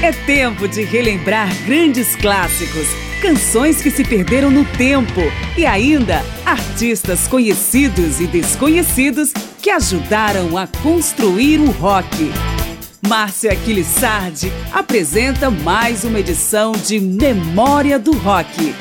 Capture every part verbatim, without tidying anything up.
É tempo de relembrar grandes clássicos, canções que se perderam no tempo e ainda artistas conhecidos e desconhecidos que ajudaram a construir o rock. Márcia Aquiles Sardi apresenta mais uma edição de Memória do Rock.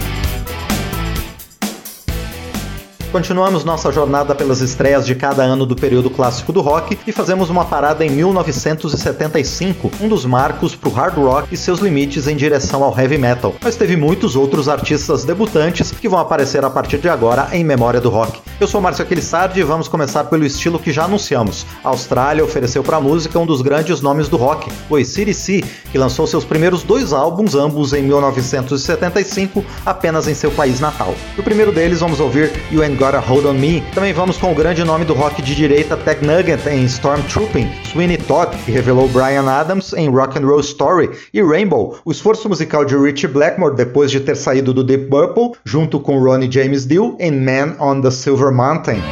Continuamos nossa jornada pelas estreias de cada ano do período clássico do rock e fazemos uma parada em mil novecentos e setenta e cinco, um dos marcos para o hard rock e seus limites em direção ao heavy metal. Mas teve muitos outros artistas debutantes que vão aparecer a partir de agora em Memória do Rock. Eu sou Márcio Aquiles Sardi e vamos começar pelo estilo que já anunciamos. A Austrália ofereceu para a música um dos grandes nomes do rock, o A C D C, que lançou seus primeiros dois álbuns, ambos em mil novecentos e setenta e cinco, apenas em seu país natal. No primeiro deles vamos ouvir You Ain't Got a Hold on Me. Também vamos com o grande nome do rock de direita Ted Nugent em Stormtrooping, Sweeney Todd, que revelou Bryan Adams em Rock and Roll Story, e Rainbow, o esforço musical de Ritchie Blackmore depois de ter saído do Deep Purple, junto com Ronnie James Dio em Man on the Silver Mountain.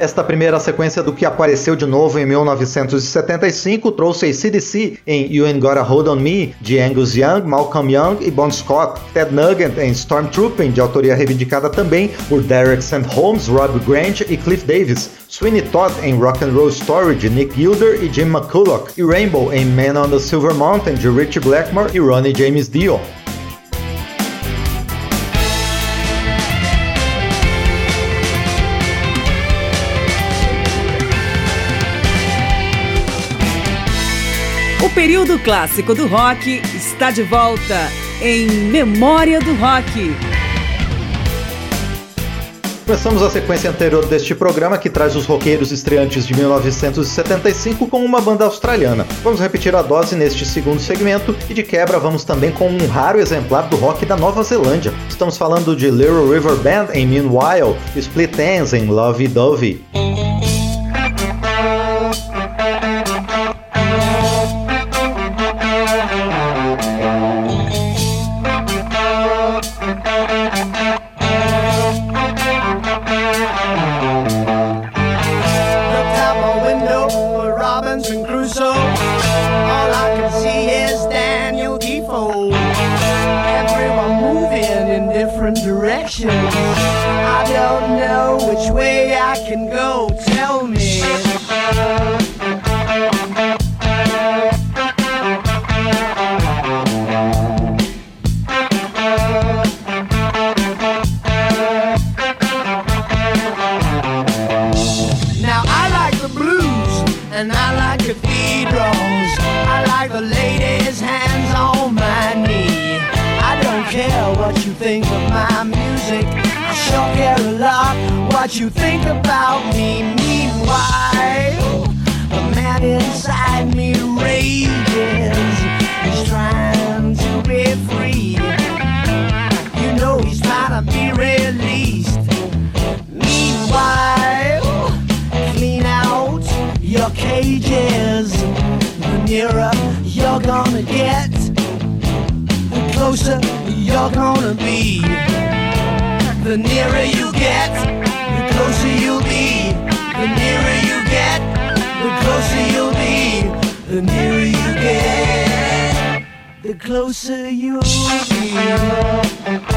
Esta primeira sequência do que apareceu de novo em mil novecentos e setenta e cinco trouxe A C D C em You Ain't Got a Hold on Me, de Angus Young, Malcolm Young e Bon Scott, Ted Nugent em Stormtrooping, de autoria reivindicada também por Derek Saint Holmes, Rob Grant e Cliff Davis, Sweeney Todd em Rock and Roll Story, de Nick Gilder e Jim McCulloch, e Rainbow em Man on the Silver Mountain, de Ritchie Blackmore e Ronnie James Dio. O período clássico do rock está de volta em Memória do Rock. Começamos a sequência anterior deste programa, que traz os roqueiros estreantes de mil novecentos e setenta e cinco com uma banda australiana. Vamos repetir a dose neste segundo segmento e de quebra vamos também com um raro exemplar do rock da Nova Zelândia. Estamos falando de Little River Band em Meanwhile, Split Enz em Lovey Dovey. I don't know which way I can go, tell me. Now I like the blues and I like cathedrals. I like the ladies' hands on my knee. I don't care what you think of my music, I sure care a lot what you think about me. Meanwhile, the man inside me rages. He's trying to be free. You know he's trying to be released. Meanwhile, clean out your cages. The nearer you're gonna get, the closer you're gonna be. The nearer you get, the closer you'll be. The nearer you get, the closer you'll be. The nearer you get, the closer you'll be.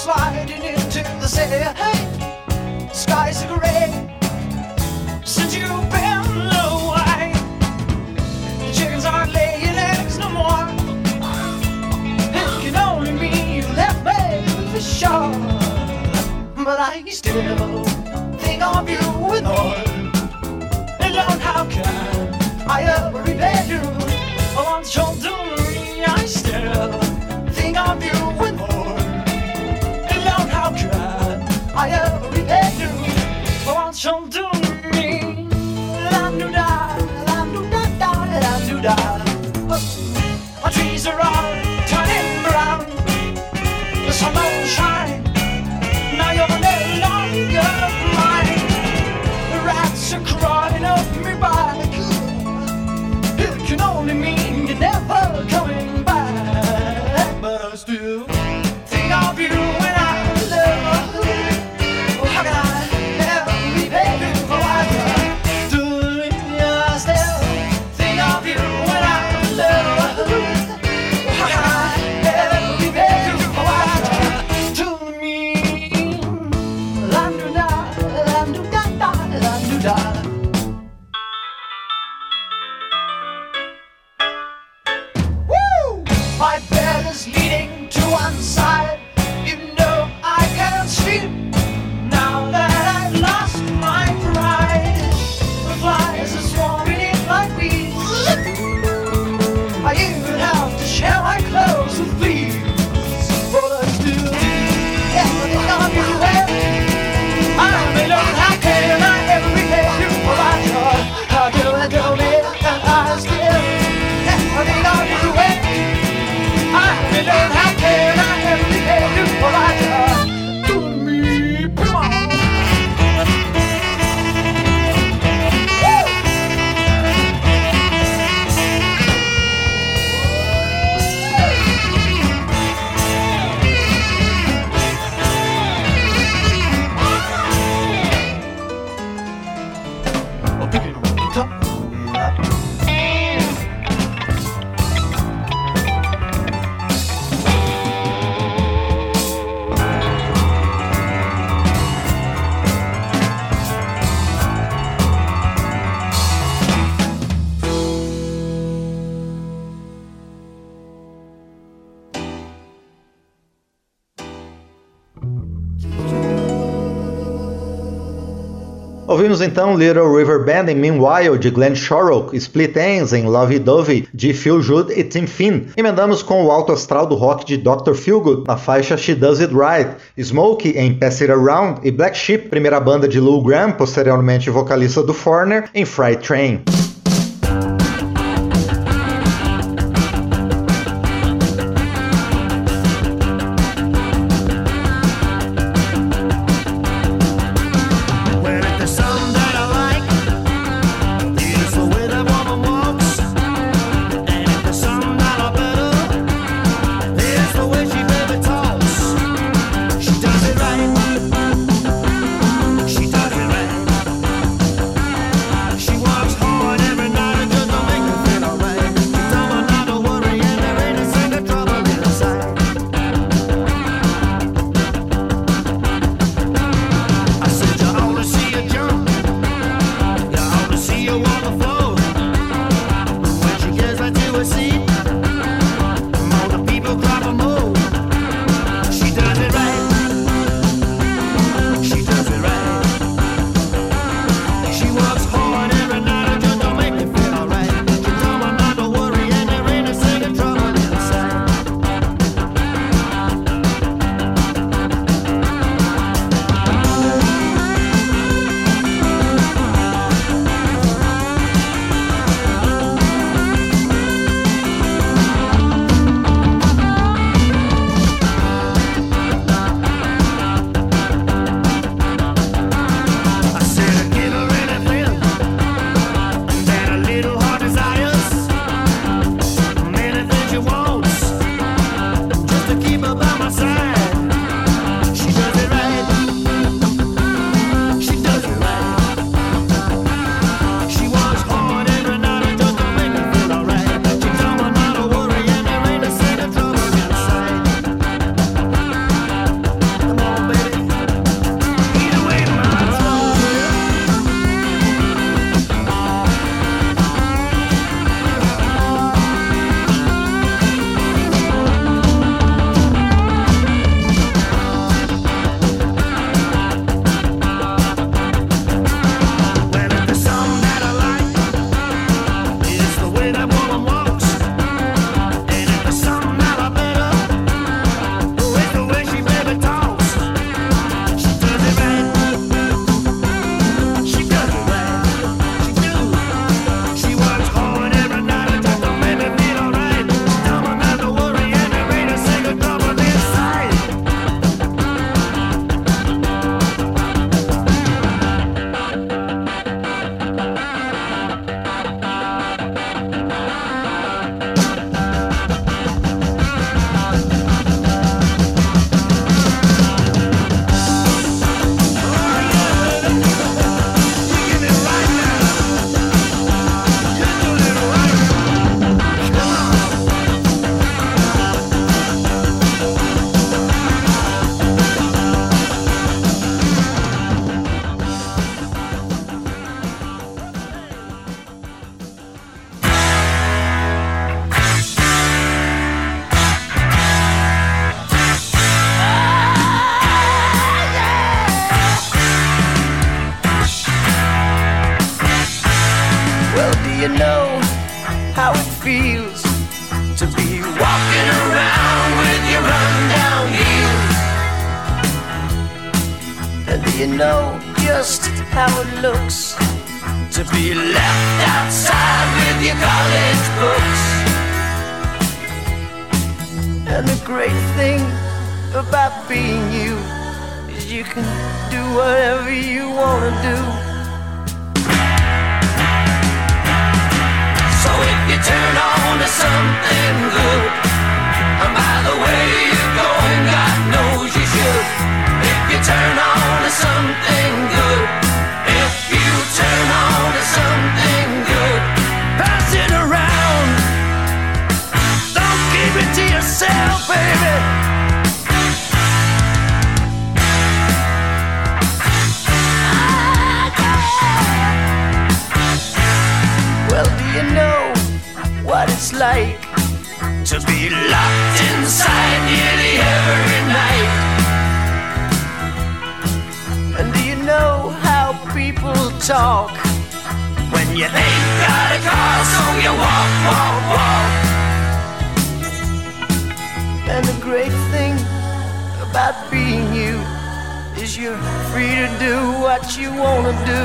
sliding into the city. Hey, skies are gray since you've been away. The chickens aren't laying eggs no more. It can only mean you left me for sure. But I still think of you with more. And Lord, how can I ever repay you? I want your jewelry, I still think of you with more. And Lord, how can I ever repay you? I want your jewelry. La-do-da, la-do-da-da, la-do-da. Our trees are all turning brown. The sun won't shine. Now you're no longer mine. The rats are crawling up me back. It can only mean you're never coming back. But I still think of you when I love. Oh, how can I ever repay you for what you do? I still think of you when I love. Oh, how can I ever repay you for what you do to me? La-do-da, la-do-da-da, la-do-da. My bed is leaning to one side. You know I can't sleep now that I've lost my pride. The flies are swarming in like bees. I even have to share my clothes with thieves. But I still think of you when I'm alone. How can I ever repay you for my joy? How can I do it? And I still think of you when I'm alone. How can I ever repay you for my joy? To me, come on. Oh, pick it up, pick it up. Ouvimos então Little River Band em Meanwhile, de Glenn Shorrock, Split Enz em Lovey Dovey, de Phil Judd e Tim Finn. Emendamos com o alto astral do rock de doutor Feelgood, na faixa She Does It Right, Smokey em Pass It Around e Black Sheep, primeira banda de Lou Gramm, posteriormente vocalista do Foreigner, em Freight Train. She walks hard you know just how it looks to be left outside with your college books? And the great thing about being you is you can do whatever you wanna do. So if you turn on to something good, and by the way you're going, God knows you should. If you turn on to something good, if you turn on to something good, pass it around. Don't keep it to yourself, baby. Well, do you know what it's like to be locked inside nearly every night? And do you know how people talk when you ain't got a car, so you walk, walk, walk? And the great thing about being you is you're free to do what you wanna do.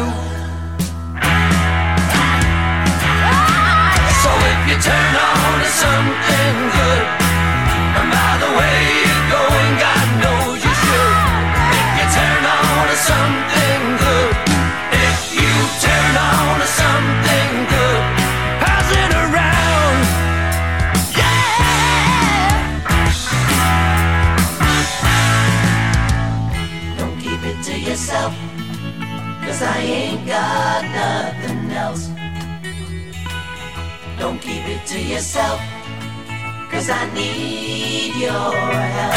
So if you turn on to something good, and by the way you're going, God knows you should. If you turn on to something good, if you turn on to something good, pass it around. Yeah! Don't keep it to yourself, 'cause I ain't got nothing else. Don't keep it to yourself, 'cause I need your help.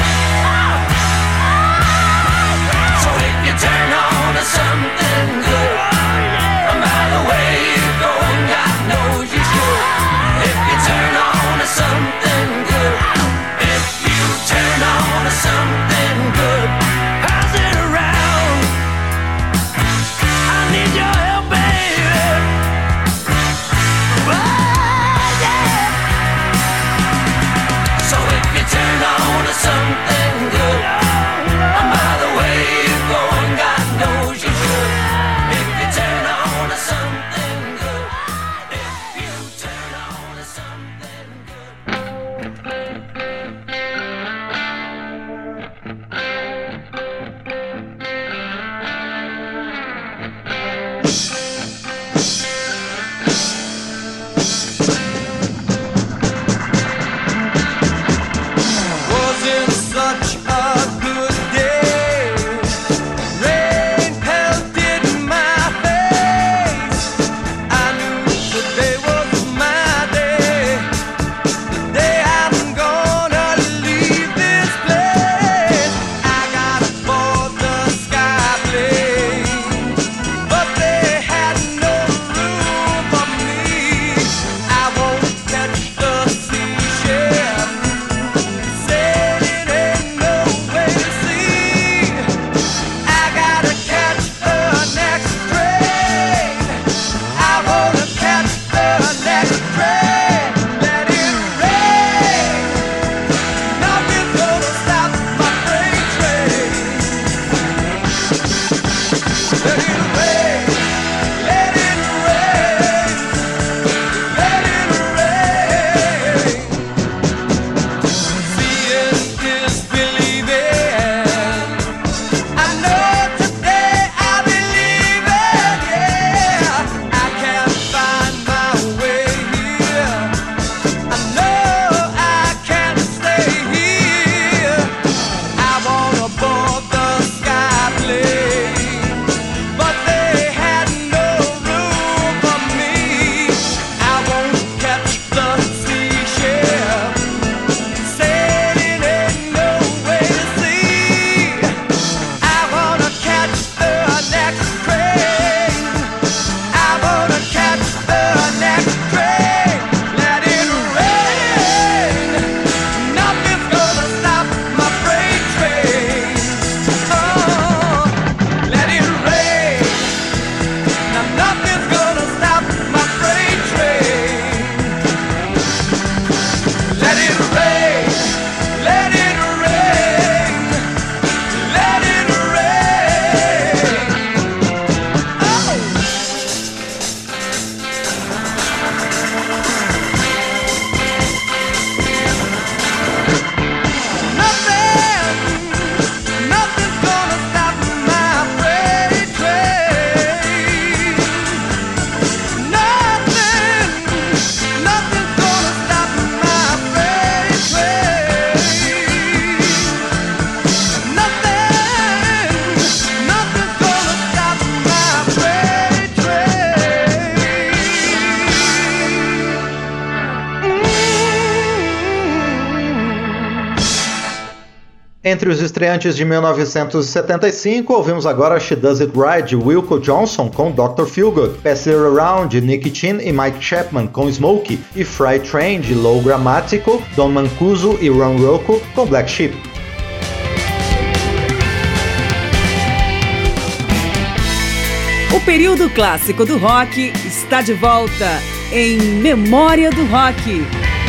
So if you turn on to something good, and by the way you're going, God knows you should. If you turn on to something good, if you turn on to something good, pass it around. I need your help, baby. So if you turn on to something Entre os estreantes de mil novecentos e setenta e cinco, ouvimos agora She Does It Right, de Wilco Johnson, com doutor Feelgood, Pass It Around, de Nicky Chin e Mike Chapman, com Smokey, e Freight Train, de Lou Grammatical, Don Mancuso e Ron Rocco, com Black Sheep. O período clássico do rock está de volta em Memória do Rock.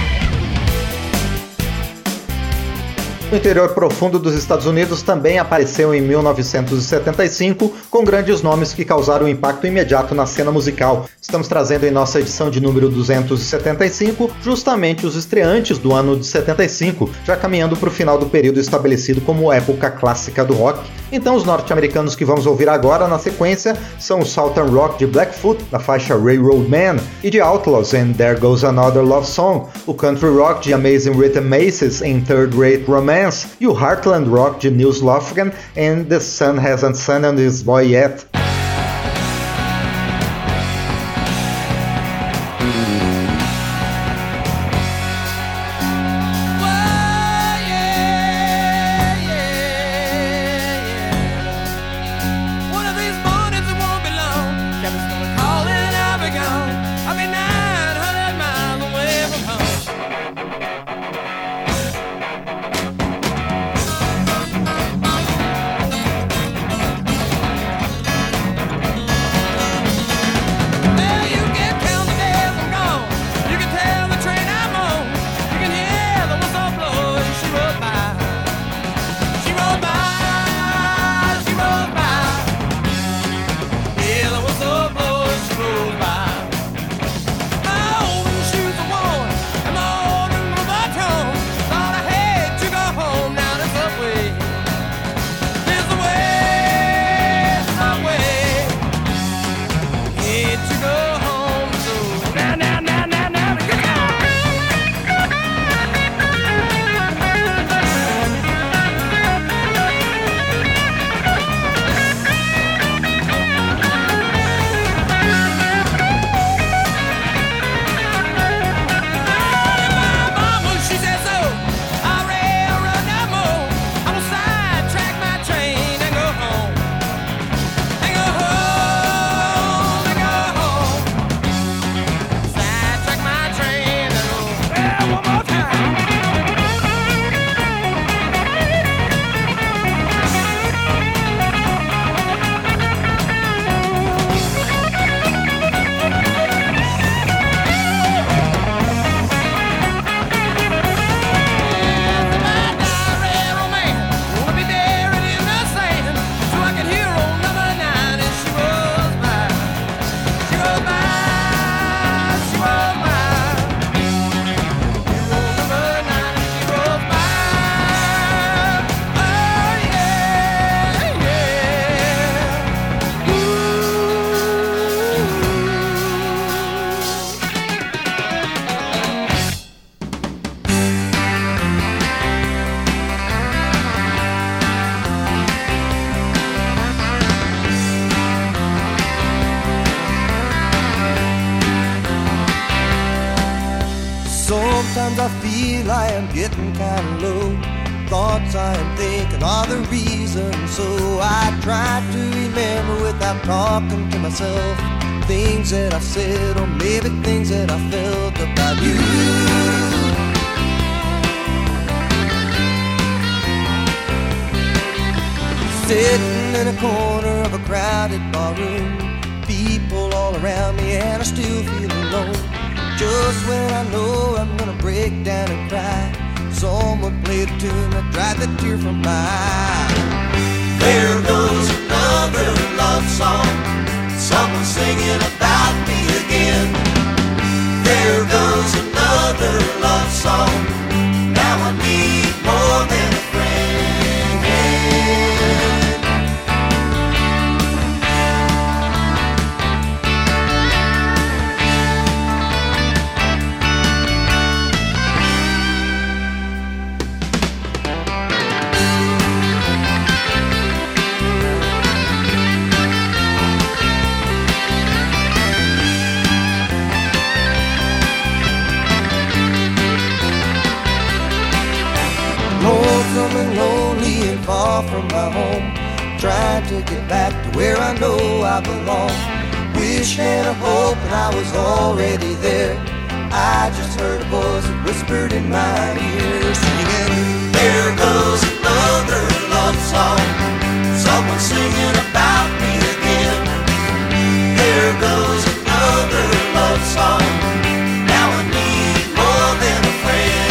O interior profundo dos Estados Unidos também apareceu em mil novecentos e setenta e cinco, com grandes nomes que causaram um impacto imediato na cena musical. Estamos trazendo em nossa edição de número duzentos e setenta e cinco justamente os estreantes do ano de setenta e cinco, já caminhando para o final do período estabelecido como época clássica do rock. Então os norte-americanos que vamos ouvir agora na sequência são o Southern Rock de Blackfoot, na faixa Railroad Man, e de Outlaws em There Goes Another Love Song, o Country Rock de Amazing Rhythm Maces em Third Rate Romance, e o Heartland Rock de Nils Lofgren em The Sun Hasn't Sun on This Boy Yet. Sometimes I feel I am getting kinda low. Thoughts I am thinking are the reason. So I try to remember without talking to myself things that I said, or maybe things that I felt about you. Sitting in a corner of a crowded barroom, people all around me and I still feel alone. Just when I know I'm gonna break down and cry, someone played a tune that dried the tear from my eye. There goes another love song, someone singing about me again. There goes another love song, now I need more than a friend. lonesome and lonely and far from my home, trying to get back to where I know I belong. Wish and a hope and I was already there. I just heard a voice that whispered in my ear, singing, there goes another love song, someone singing about me again. There goes another love song, now I need more than a friend.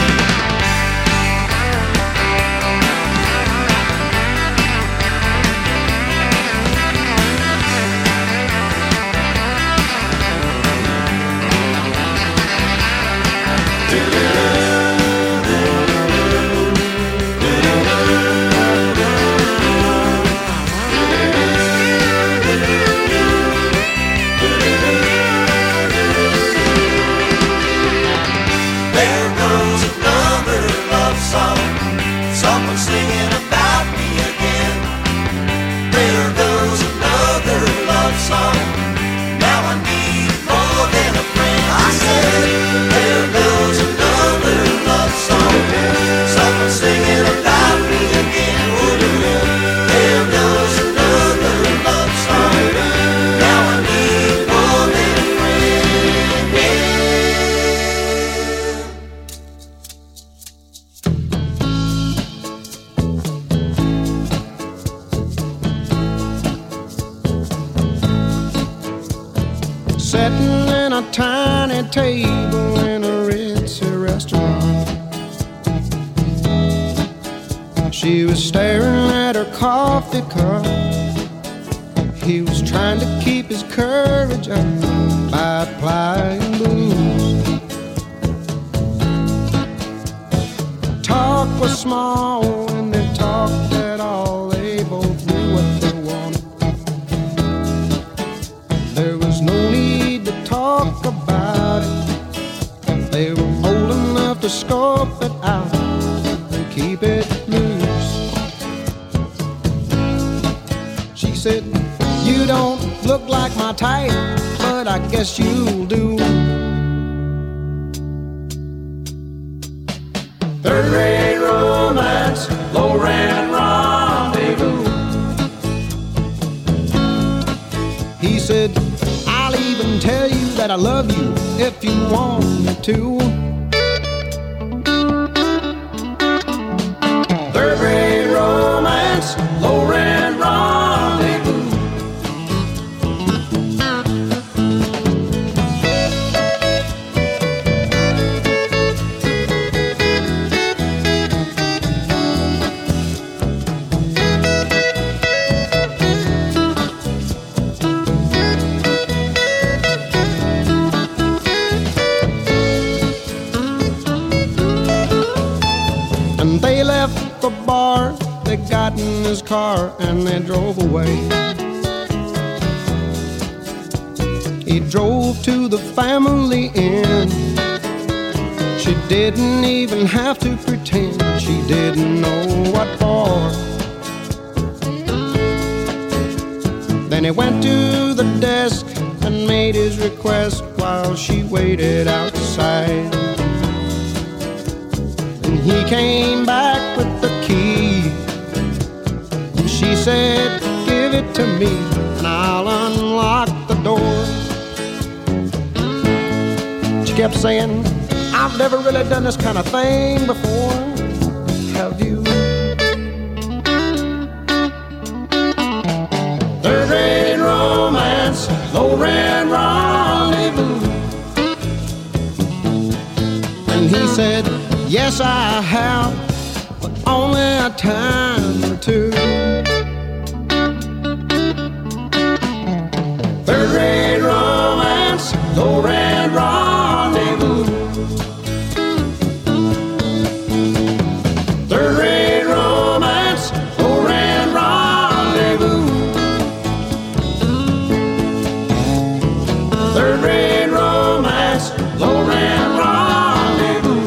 Someone singing about me again. There goes another love song, now I need more than a friend. I said, there goes another love song, someone singing about me again. There goes another love song, now I need more than a friend. Sitting in a tiny table in a ritzy restaurant, she was staring at her coffee cup. He was trying to keep his courage up by applying booze. Talk was small when they talked at all. They both knew what they wanted. There was no need to talk about it. They were old enough to scope it out and keep it loose. She said, you don't look like my type, but I guess you'll do. Third rate romance, low rent rendezvous. He said, I'll even tell you that I love you if you want me to. Third rate romance, low rent rendezvous. They left the bar, they got in his car and they drove away. He drove to the family inn. She didn't even have to pretend she didn't know what for. Then he went to the desk and made his request while she waited outside. And he came back with the key. And she said, give it to me and I'll unlock the door. She kept saying, I've never really done this kind of thing before. Have you? Third rate romance, low rent rendezvous. And he said, yes, I have, but only a time or two. Third rate romance, low rent rendezvous. Third rate romance, low rent rendezvous. Third rate romance, low rent rendezvous.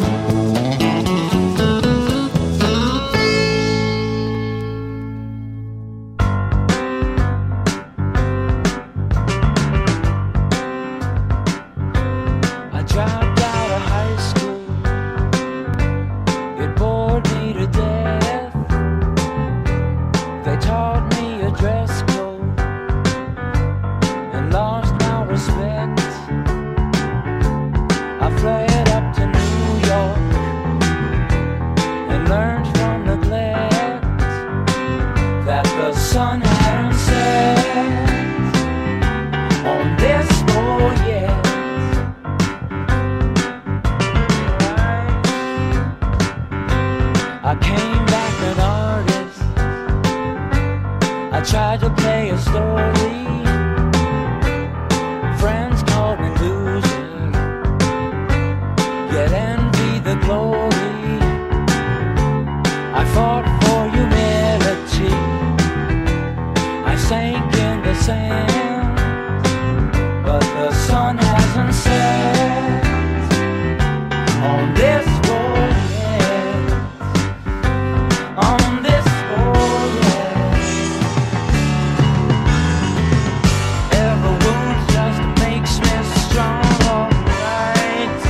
on this voyage. I came back an artist. I tried to play a story. Friends called me loser, yet envy the glory. I fought for humility. I sank in the sand, but the sun hasn't set on this voyage, on this voyage. Every wound just makes me strong, alright.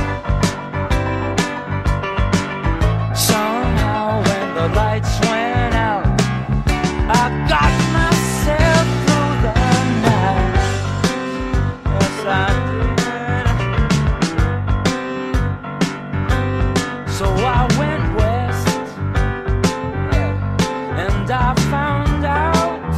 Somehow when the lights went out, I got myself through the night. Yes, I did. So I went west, yeah, and I found out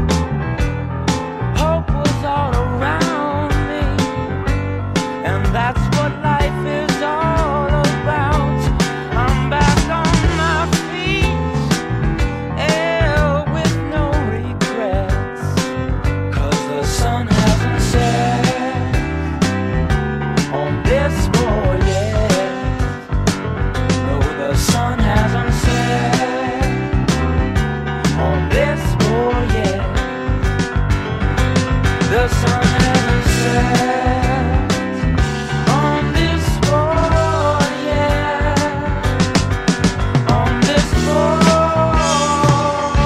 hope was all around me, and that's what life is all about. I'm back on my feet, yeah, with no regrets, 'cause the sun hasn't set on this voyage. No, the sun hasn't set on this voyage. The sun hasn't set on this voyage. On this voyage.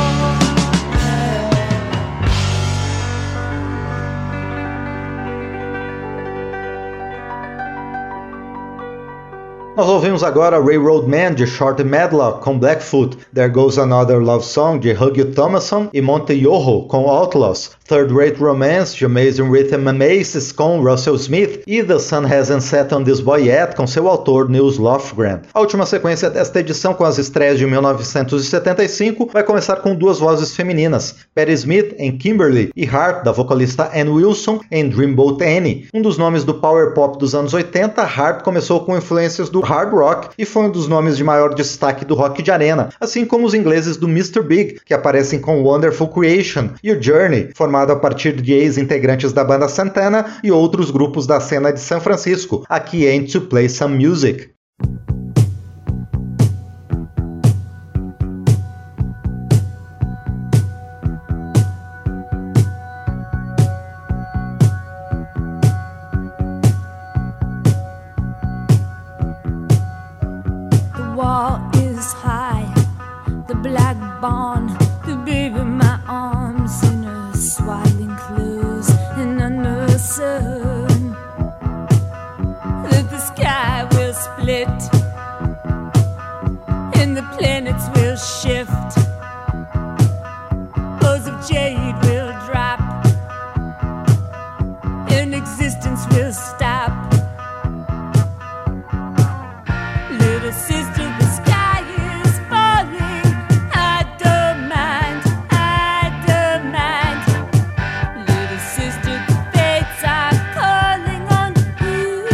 Nós ouvimos agora Railroad Man de Shorty Medlock com Blackfoot, There Goes Another Love Song de Huggy Thomason e Monte Yoho com Outlaws, Third Rate Romance de Amazing Rhythm and Aces com Russell Smith e The Sun Hasn't Set on This Boy Yet com seu autor Nils Lofgren. A última sequência desta edição, com as estreias de mil novecentos e setenta e cinco, vai começar com duas vozes femininas, Patti Smith em Kimberly e Heart, da vocalista Ann Wilson, em Dreamboat Annie. Um dos nomes do power pop dos anos oitenta, Heart começou com influências do hard rock e foi um dos nomes de maior destaque do rock de arena, assim como os ingleses do mister Big, que aparecem com Wonderful Creation, e o Journey, formado a partir de ex-integrantes da banda Santana e outros grupos da cena de São Francisco, aqui em To Play Some Music. Wall is high, the black barn, the baby in my arms in her swaddling clothes and under the sun. That the sky will split and the planets will shift. Bows of jade will drop and existence will stop. Little sister, the sky is falling. I don't mind, I don't mind. Little sister, the fates are calling on you.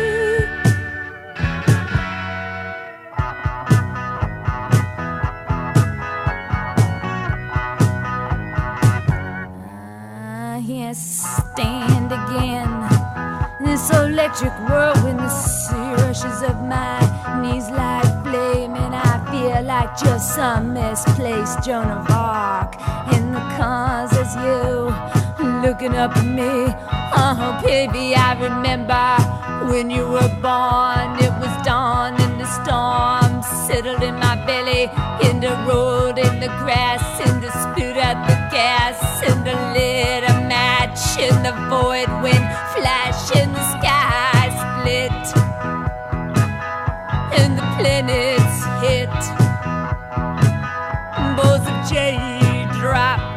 I can't stand again this electric whirlwind, the sea rushes up my knees like flame, and I feel like just some misplaced Joan of Arc in the cars as you looking up at me. Oh baby, I remember when you were born. It was dawn and the storm settled in my belly, in the road, in the grass, in the spit out the gas, in the lit a match in the void when flash in the sky split and the planets hit. Bows of jade dropped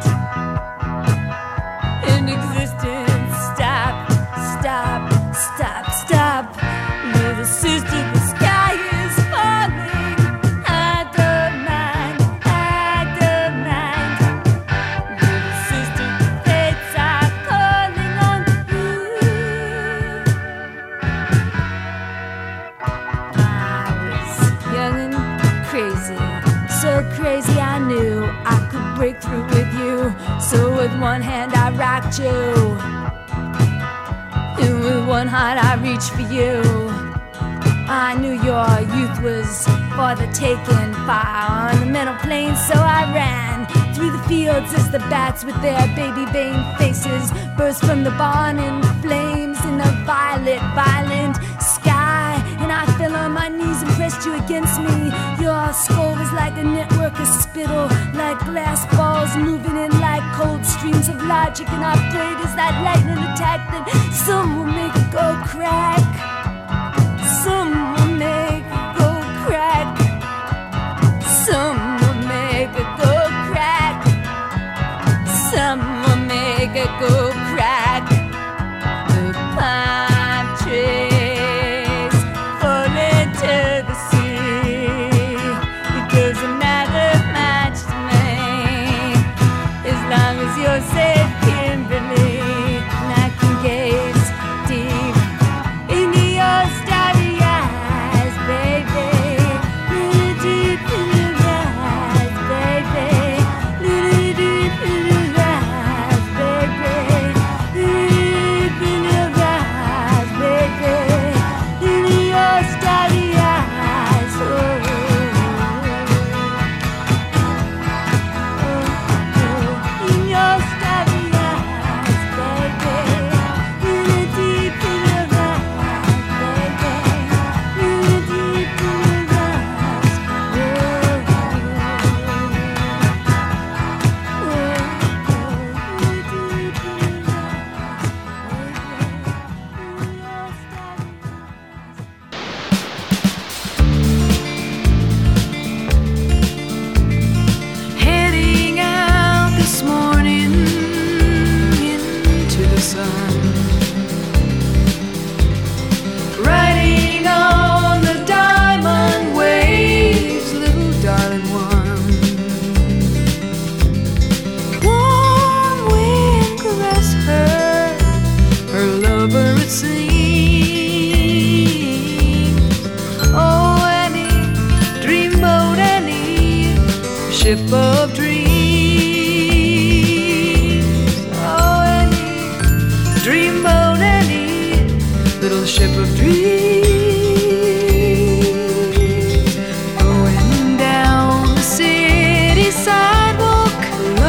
and existence stopped. Stop, stop, stop. Little sister, the sky is falling. I don't mind, I don't mind. Little sister, the fates break through with you. So with one hand I rocked you, and with one heart I reached for you. I knew your youth was for the taking, fire on the mental plane, so I ran through the fields as the bats with their baby vein faces burst from the barn in flames in the violet, violent sky. And I fell on my knees and pressed you against me. Your skull was like a network of spittle, like glass balls moving in like cold streams of logic. And I prayed as that lightning attacked that some will make it go crack. Some will make it go crack. Some will make it go crack. Some will make it go crack. The pine trees fall into the sea. It doesn't matter much to me as long as you're safe, Kimberly. And I can gaze deep into your starry eyes, baby. Little deep in your eyes, baby. Little deep in your eyes, baby. Little deep in your eyes, baby. In your starry eyes, oh, oh, oh. In your starry eyes, baby. Little deep in your eyes, baby. Little deep in your eyes, oh, oh, oh, deep in your Heading out this morning into the sun, riding on the diamond waves, little darling one. Warm wind caress her, her lover it seems. Oh, Annie, dreamboat Annie, ship of dreams. Oh, Annie, dreamboat Annie, little ship of dreams. Going down the city sidewalk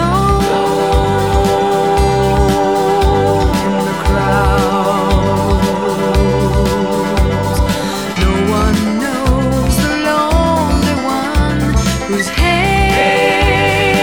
alone in the crowds. No one knows the lonely one whose head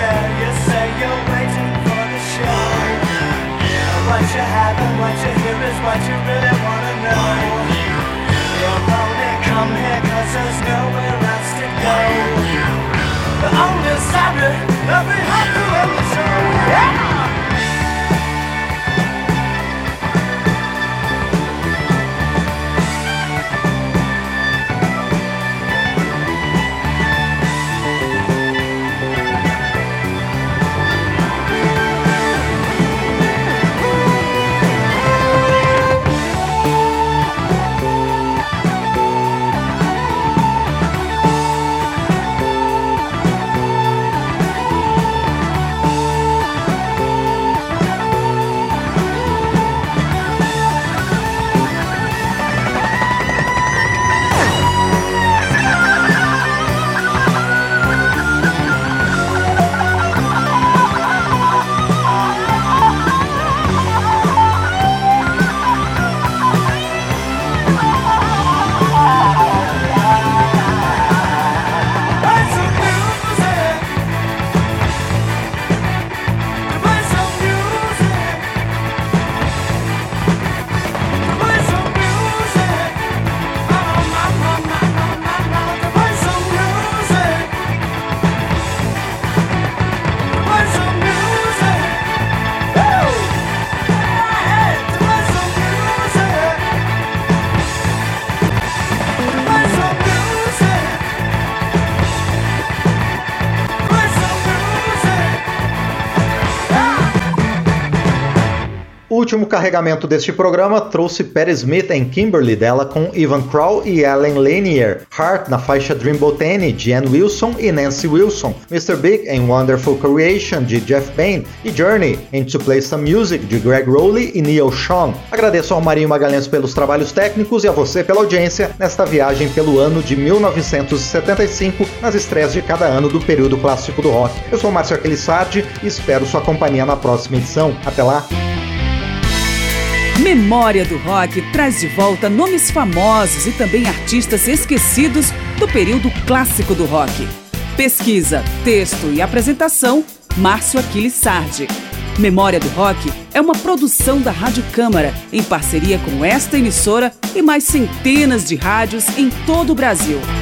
there, you say you're waiting for the show. What you have and what you hear is what you really wanna know. You'll only come here cause there's nowhere else to go. But only Saturday, let me have you in the show. Yeah! O último carregamento deste programa trouxe Patti Smith and Kimberly dela com Ivan Crow e Ellen Lanier, Heart na faixa Dreamboat Annie de Ann Wilson e Nancy Wilson, mister Big and Wonderful Creation de Jeff Bain e Journey and To Play Some Music de Greg Rowley e Neil Schon. Agradeço ao Marinho Magalhães pelos trabalhos técnicos e a você pela audiência nesta viagem pelo ano de mil novecentos e setenta e cinco nas estreias de cada ano do período clássico do rock. Eu sou Márcio Aquilissardi e espero sua companhia na próxima edição. Até lá! Memória do Rock traz de volta nomes famosos e também artistas esquecidos do período clássico do rock. Pesquisa, texto e apresentação, Márcio Aquilissardi. Memória do Rock é uma produção da Rádio Câmara, em parceria com esta emissora e mais centenas de rádios em todo o Brasil.